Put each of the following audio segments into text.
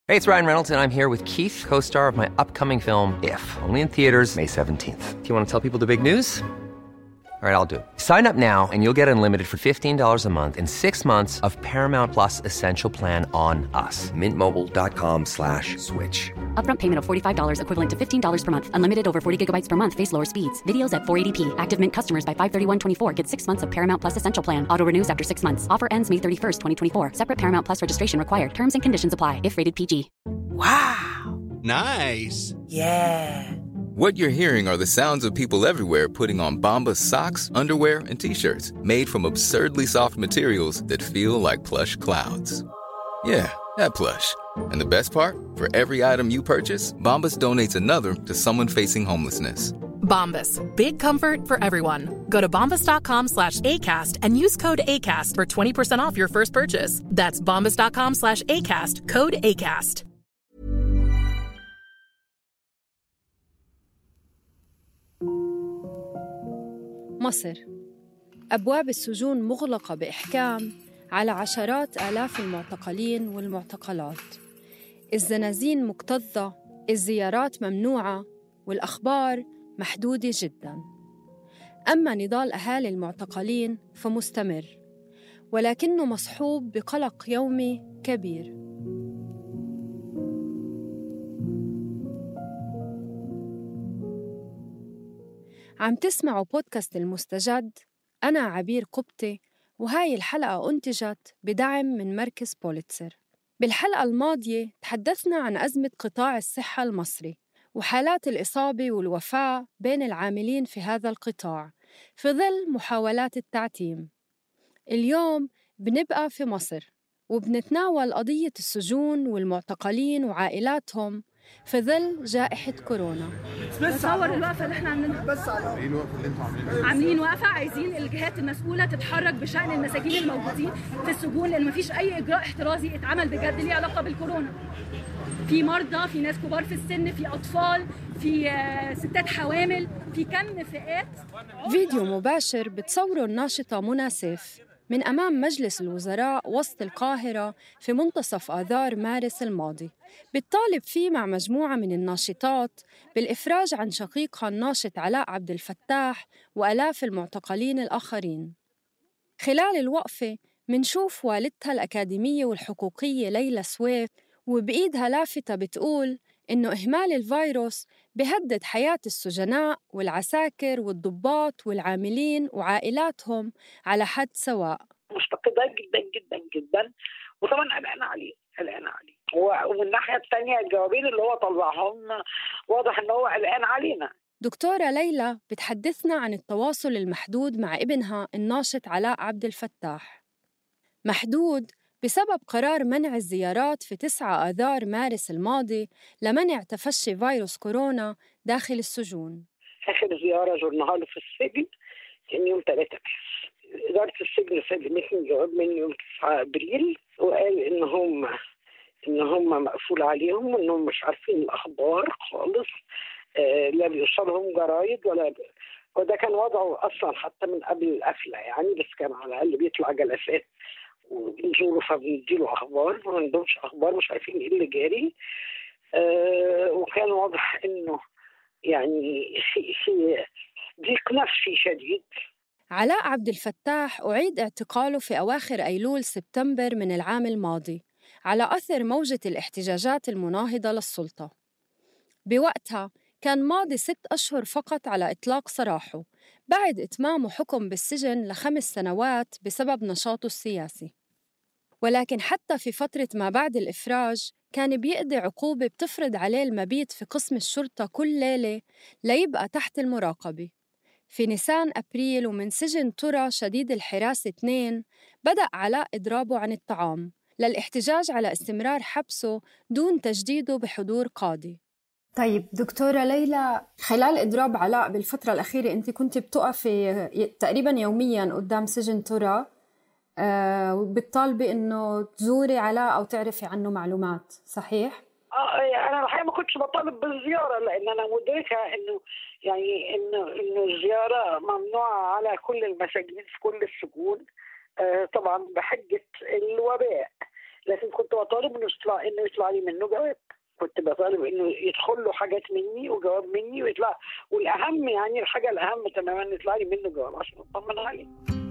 Hey, it's Ryan Reynolds, and I'm here with Keith, co-star of my upcoming film, If, only in theaters May 17th. Do you want to tell people the big news? All right, I'll do it. Sign up now and you'll get unlimited for $15 a month and 6 months of Paramount Plus Essential Plan on us. MintMobile.com/switch. Upfront payment of $45 equivalent to $15 per month. Unlimited over 40 gigabytes per month. Face lower speeds. Videos at 480p. Active Mint customers by 531.24 get 6 months of Paramount Plus Essential Plan. Auto renews after 6 months. Offer ends May 31st, 2024. Separate Paramount Plus registration required. Terms and conditions apply if rated PG. Wow. Nice. Yeah. What you're hearing are the sounds of people everywhere putting on Bombas socks, underwear, and T-shirts made from absurdly soft materials that feel like plush clouds. Yeah, that plush. And the best part? For every item you purchase, Bombas donates another to someone facing homelessness. Bombas. Big comfort for everyone. Go to bombas.com/ACAST and use code ACAST for 20% off your first purchase. That's bombas.com/ACAST. Code ACAST. مصر. أبواب السجون مغلقة بإحكام على عشرات آلاف المعتقلين والمعتقلات. الزنازين مكتظة، الزيارات ممنوعة، والأخبار محدودة جداً. أما نضال أهالي المعتقلين فمستمر، ولكنه مصحوب بقلق يومي كبير. عم تسمعوا بودكاست المستجد. أنا عبير قبطي، وهاي الحلقة أنتجت بدعم من مركز بوليتسر. بالحلقة الماضية تحدثنا عن أزمة قطاع الصحة المصري وحالات الإصابة والوفاة بين العاملين في هذا القطاع في ظل محاولات التعتيم. اليوم بنبقى في مصر وبنتناول قضية السجون والمعتقلين وعائلاتهم في ظل جائحة كورونا. بتصور الوقفة اللي احنا عاملينها. بس عاملين وقفة عايزين الجهات المسؤولة تتحرك بشأن المساجين الموجودين في السجون، لأن مفيش أي إجراء احترازي اتعمل بجد ليه علاقة بالكورونا. في مرضى، في ناس كبار في السن، في أطفال، في ستات حوامل، في كم فئات. فيديو مباشر بتصوره الناشطة منى سيف من أمام مجلس الوزراء وسط القاهرة في منتصف آذار مارس الماضي، بتطالب فيه مع مجموعة من الناشطات بالإفراج عن شقيقها الناشط علاء عبد الفتاح وآلاف المعتقلين الآخرين. خلال الوقفة منشوف والدتها الأكاديمية والحقوقية ليلى سويف وبإيدها لافتة بتقول إنه إهمال الفيروس بيهدد حياة السجناء والعساكر والضباط والعاملين وعائلاتهم على حد سواء. مفتقدة جدا جدا جدا، وطبعا قلقانة عليه. ومن الناحية الثانية الجوابين اللي هو طلعهم واضح إنه هو قلقان علينا. دكتورة ليلى بتحدثنا عن التواصل المحدود مع ابنها الناشط علاء عبد الفتاح. محدود بسبب قرار منع الزيارات في 9 آذار مارس الماضي لمنع تفشي فيروس كورونا داخل السجون. آخر زيارة زرناها له في السجن كان يوم 3 مارس. إدارة السجن سلمتني جواب من يوم 9 أبريل وقال إن هم مقفول عليهم وإنهم مش عارفين الأخبار خالص. لا بيوصلهم جرايد وده كان وضعه أصلا حتى من قبل القفلة يعني، بس كان على الأقل بيطلع جلسات ونزوره فبنديله أخبار، ما عندهمش أخبار، مش عارفين إيه اللي جاري. وكان واضح إنه يعني في ضيق نفسي شديد. علاء عبد الفتاح أعيد اعتقاله في أواخر أيلول سبتمبر من العام الماضي على أثر موجة الاحتجاجات المناهضة للسلطة. بوقتها كان ماضي 6 أشهر فقط على إطلاق سراحه بعد إتمامه حكم بالسجن ل5 سنوات بسبب نشاطه السياسي. ولكن حتى في فترة ما بعد الإفراج كان بيقضي عقوبة بتفرض عليه المبيت في قسم الشرطة كل ليلة ليبقى تحت المراقبة. في نيسان أبريل ومن سجن ترى شديد الحراسة 2 بدأ علاء إضرابه عن الطعام للاحتجاج على استمرار حبسه دون تجديده بحضور قاضي. طيب دكتورة ليلى، خلال إضراب علاء بالفترة الأخيرة أنت كنت بتقفي تقريباً يومياً قدام سجن ترى وبتطالبي إنه تزوري علاء أو تعرفي عنه معلومات، صحيح؟ أنا الحقيقة ما كنتش بطالب بالزيارة، لأن أنا مدركة إنه يعني إنه الزيارة ممنوعة على كل المساجين في كل السجون، طبعاً بحجة الوباء. لكن كنت بطالب انه يطلع لي منه جواب. كنت بطالب انه يدخل له حاجات مني وجواب مني ويطلع، والاهم يعني الحاجه الاهم تماما يطلع لي منه جواب عشان اطمن عليه.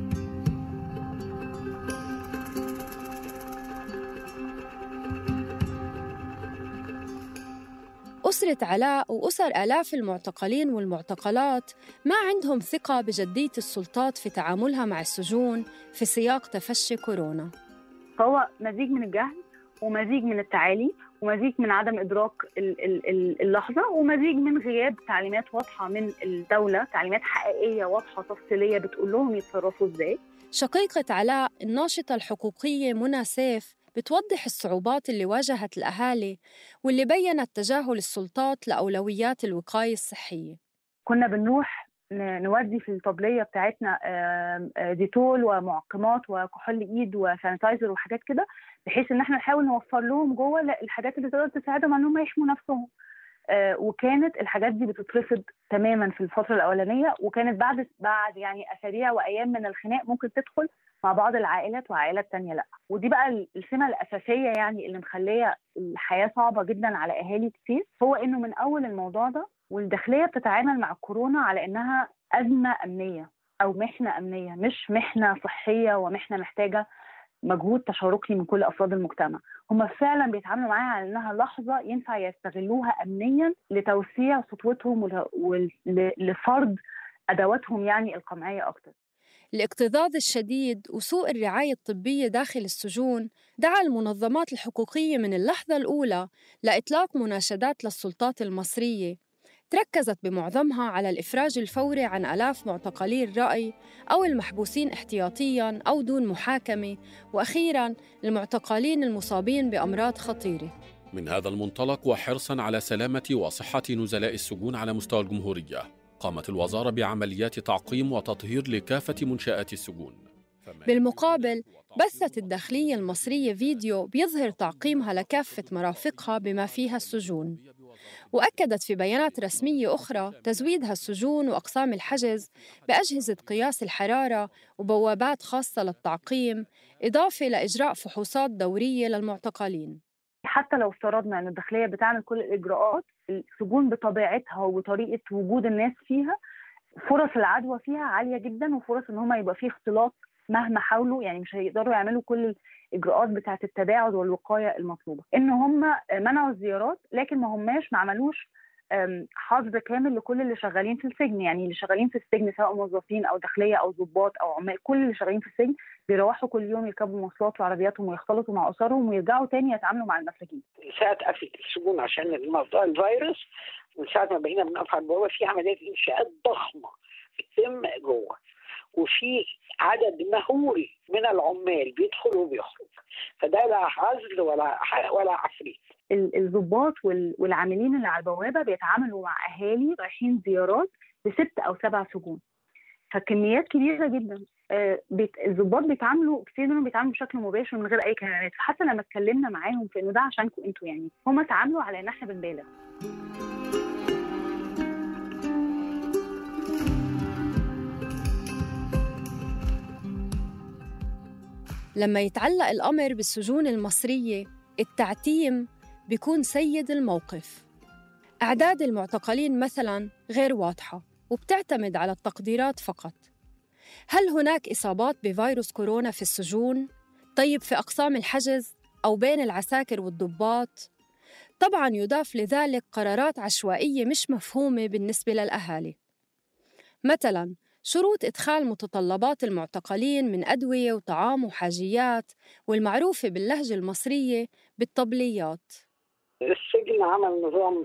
أسرة علاء وأسر آلاف المعتقلين والمعتقلات ما عندهم ثقة بجدية السلطات في تعاملها مع السجون في سياق تفشي كورونا. فهو مزيج من الجهل ومزيج من التعالي ومزيج من عدم إدراك اللحظة ومزيج من غياب تعليمات واضحة من الدولة، تعليمات حقيقية واضحة تفصيلية بتقول لهم يتصرفوا إزاي. شقيقة علاء الناشطة الحقوقية منى سيف بتوضح الصعوبات اللي واجهت الأهالي واللي بيّنت تجاهل السلطات لأولويات الوقاية الصحية. كنا بنروح نودي في الطبلية بتاعتنا ديتول ومعقمات وكحول إيد وسانيتايزر وحاجات كده، بحيث إن احنا نحاول نوفر لهم جوه الحاجات اللي تقدر تساعدهم أنهم يحموا نفسهم. وكانت الحاجات دي بتترفض تماما في الفترة الأولانية، وكانت بعد يعني أسابيع وأيام من الخناق ممكن تدخل مع بعض العائلات وعائلات تانية لأ. ودي بقى السمة الأساسية يعني اللي مخلية الحياة صعبة جدا على أهالي كتير، هو إنه من أول الموضوع ده والداخلية بتتعامل مع كورونا على إنها أزمة أمنية أو محنة أمنية، مش محنة صحية ومحنة محتاجة مجهود تشاركي من كل أفراد المجتمع. هم فعلا بيتعاملوا معاها على إنها لحظة ينفع يستغلوها أمنيا لتوسيع سطوتهم ولفرض أدواتهم يعني القمعية أكتر. الاكتظاظ الشديد وسوء الرعاية الطبية داخل السجون دعا المنظمات الحقوقية من اللحظة الأولى لإطلاق مناشدات للسلطات المصرية تركزت بمعظمها على الإفراج الفوري عن آلاف معتقلي الرأي أو المحبوسين احتياطياً أو دون محاكمة، وأخيراً المعتقلين المصابين بأمراض خطيرة. من هذا المنطلق وحرصاً على سلامة وصحة نزلاء السجون على مستوى الجمهورية، قامت الوزارة بعمليات تعقيم وتطهير لكافة منشآت السجون. بالمقابل بثت الداخلية المصرية فيديو بيظهر تعقيمها لكافة مرافقها بما فيها السجون، وأكدت في بيانات رسمية أخرى تزويدها السجون وأقسام الحجز بأجهزة قياس الحرارة وبوابات خاصة للتعقيم، إضافة لإجراء فحوصات دورية للمعتقلين. حتى لو افترضنا أن الداخلية بتعمل كل الإجراءات، السجون بطبيعتها وطريقة وجود الناس فيها فرص العدوى فيها عالية جدا، وفرص ان هم يبقى فيه اختلاط مهما حاولوا، يعني مش هيقدروا يعملوا كل الإجراءات بتاعة التباعد والوقاية المطلوبة. ان هم منعوا الزيارات، لكن ما عملوش حظر كامل لكل اللي شغالين في السجن. يعني اللي شغالين في السجن سواء موظفين أو داخلية أو ضباط أو عمال، كل اللي شغالين في السجن بيروحوا كل يوم يركبوا مواصلات وعربياتهم ويختلطوا مع أسرهم ويرجعوا تاني يتعاملوا مع المساجين. ساعة قفلت السجون عشان موضوع الفيروس، من ساعة ما بقينا بنقف على البوابة في عمليات إنشاءات ضخمة بتتم جوه، وفي عدد مهول من العمال بيدخل وبيخرج، فده لا عزل ولا عفريت. الضباط والعاملين اللي على البوابة بيتعاملوا مع أهالي رايحين زيارات ب6 أو 7 سجون، فكميات كبيرة جدا. الضباط بيتعاملوا كتير منهم بيتعاملوا بشكل مباشر من غير أي كلمات، فحتى لما اتكلمنا معاهم في إنه ده عشانكم أنتوا، يعني هم تعاملوا على إن إحنا بنبالغ. لما يتعلق الأمر بالسجون المصرية، التعتيم بيكون سيد الموقف. أعداد المعتقلين مثلاً غير واضحة وبتعتمد على التقديرات فقط. هل هناك إصابات بفيروس كورونا في السجون؟ طيب في أقسام الحجز أو بين العساكر والضباط؟ طبعاً يضاف لذلك قرارات عشوائية مش مفهومة بالنسبة للأهالي، مثلاً شروط إدخال متطلبات المعتقلين من أدوية وطعام وحاجيات، والمعروفة باللهجة المصرية بالطبليات. السجن عمل نظام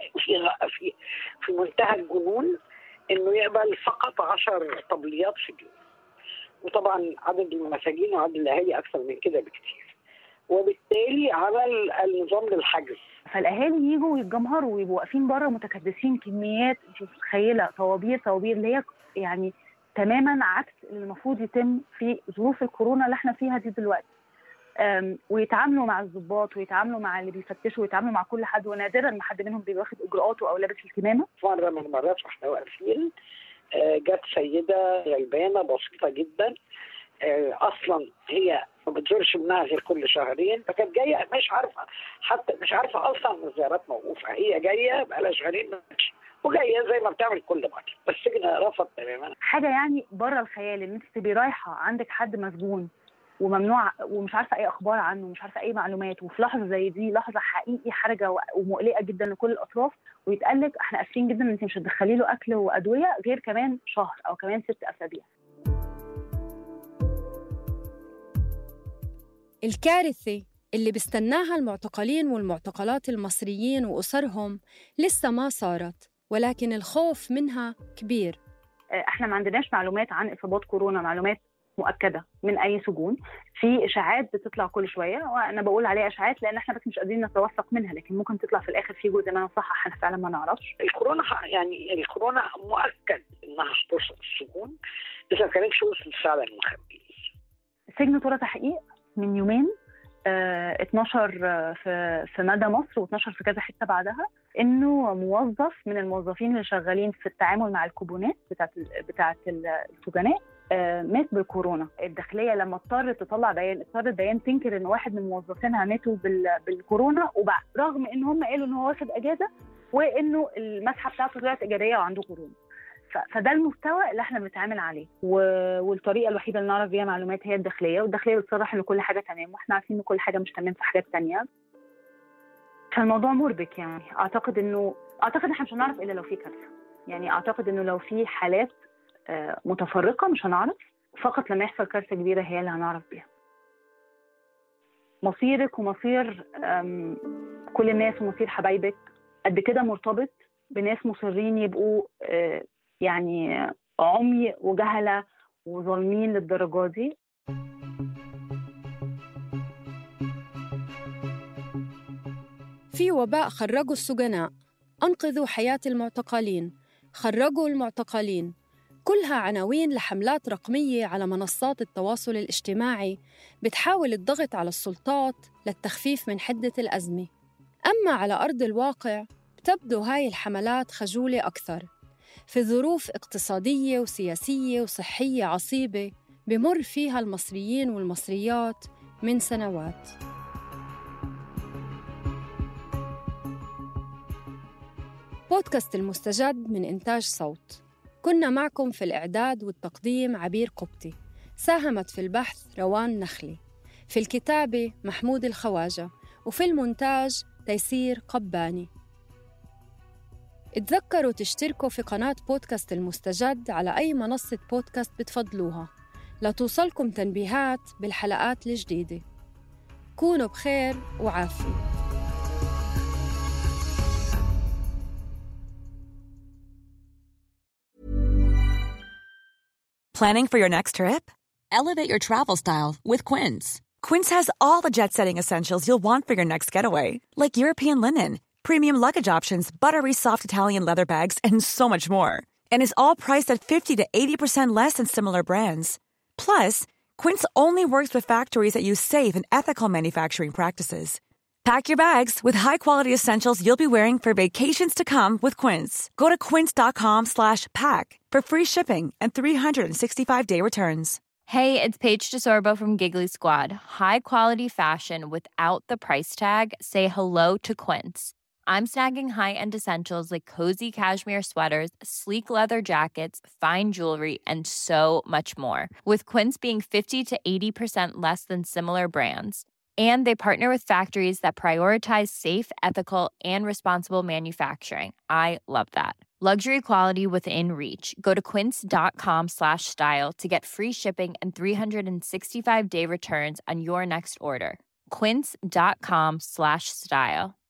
في منتهى الجنون، إنه يقبل فقط 10 طبليات في اليوم، وطبعاً عدد المساجين وعدد الأهالي أكثر من كده بكتير، وبالتالي عمل النظام للحجز. فالأهالي يجوا ويتجمهروا ويبقوا واقفين بره متكدسين كميات، انت متخيلة طوابير اللي هي يعني تماماً عكس اللي المفروض يتم في ظروف الكورونا اللي احنا فيها دي دلوقتي. ويتعاملوا مع الضباط ويتعاملوا مع اللي بيفتشوا ويتعاملوا مع كل حد، ونادراً ما حد منهم بيواخد إجراءاته أو لابس الكمامة. مرة من المرات واحنا واقفين جت سيدة غلبانة بسيطة جدا، أصلاً هي ما بتزورش ابنها غير كل شهرين، فكانت جايه مش عارفه، حتى مش عارفه اصلا ان الزيارات موقوفه، هي جايه بقالها شهرين وجايه زي ما بتعمل كل مره، بس السجن رفض تماما. حاجه يعني بره الخيال ان انت تبقي رايحه عندك حد مسجون وممنوع ومش عارفه اي اخبار عنه، مش عارفه اي معلومات، وفي لحظه زي دي لحظه حقيقي حرجه ومقلقه جدا لكل الاطراف، ويتقال لك احنا اسفين جدا ان انت مش هتدخلي له اكل وادويه غير كمان شهر او كمان 6 أسابيع. الكارثة اللي بيستناها المعتقلين والمعتقلات المصريين وأسرهم لسه ما صارت، ولكن الخوف منها كبير. احنا ما عندناش معلومات عن إصابات كورونا، معلومات مؤكدة من أي سجون. في إشاعات بتطلع كل شوية، وأنا بقول عليها إشاعات لأن احنا بس مش قادرين نتوثق منها، لكن ممكن تطلع في الآخر في جزء منها صح احنا فعلا ما نعرفش. الكورونا يعني الكورونا مؤكد إنها هتوصل السجون إذا ما كانتش وصلت فعلا المخبئين. سجن طور تحقيق من يومين 12 في مدى مصر و12 في كذا حته بعدها، انه موظف من الموظفين اللي شغالين في التعامل مع الكوبونات بتاعت السجناء مات بالكورونا. الداخليه لما اضطرت تطلع بيان، اضطرت بيان تنكر ان واحد من موظفينها ماتوا بالكورونا، رغم ان هم قالوا ان هو واخد اجازه وانه المسحه بتاعته طلعت ايجابيه وعنده كورونا. فده المستوى اللي احنا بنتعامل عليه، والطريقه الوحيده اللي نعرف بيها معلومات هي الداخليه، والداخليه بتصرح ان كل حاجه تمام، واحنا عارفين ان كل حاجه مش تمام في حاجات تانية. فالموضوع مربك يعني. اعتقد احنا مش هنعرف الا لو في كارثه، يعني اعتقد انه لو في حالات متفرقه مش هنعرف، فقط لما يحصل كارثه كبيره هي اللي هنعرف بيها. مصيرك ومصير كل الناس ومصير حبايبك قد كده مرتبط بناس مصرين يبقوا يعني عمي وجهلة وظالمين للدرجة دي. في وباء خرجوا السجناء، أنقذوا حياة المعتقلين، خرجوا المعتقلين، كلها عناوين لحملات رقمية على منصات التواصل الاجتماعي بتحاول الضغط على السلطات للتخفيف من حدة الأزمة. أما على أرض الواقع بتبدو هاي الحملات خجولة أكثر في ظروف اقتصادية وسياسية وصحية عصيبة بمر فيها المصريين والمصريات من سنوات. بودكاست المستجد من إنتاج صوت. كنا معكم في الإعداد والتقديم عبير قبطي، ساهمت في البحث روان نخلي، في الكتابة محمود الخواجة، وفي المونتاج تيسير قباني. اتذكروا تشتركوا في قناة بودكاست المستجد على أي منصة بودكاست بتفضلوها لتوصلكم تنبيهات بالحلقات الجديدة. كونوا بخير وعافية. Planning for your next trip? Elevate your travel style with Quince. Quince has all the jet-setting essentials you'll want for your next getaway, like European linen, premium luggage options, buttery soft Italian leather bags, and so much more. And is all priced at 50 to 80% less than similar brands. Plus, Quince only works with factories that use safe and ethical manufacturing practices. Pack your bags with high-quality essentials you'll be wearing for vacations to come with Quince. Go to quince.com/pack for free shipping and 365-day returns. Hey, it's Paige DeSorbo from Giggly Squad. High quality fashion without the price tag. Say hello to Quince. I'm snagging high-end essentials like cozy cashmere sweaters, sleek leather jackets, fine jewelry, and so much more. With Quince being 50 to 80% less than similar brands. And they partner with factories that prioritize safe, ethical, and responsible manufacturing. I love that. Luxury quality within reach. Go to quince.com/style to get free shipping and 365-day returns on your next order. Quince.com/style.